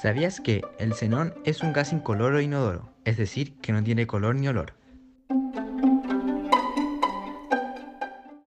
¿Sabías que el xenón es un gas incoloro e inodoro? Es decir, que no tiene color ni olor.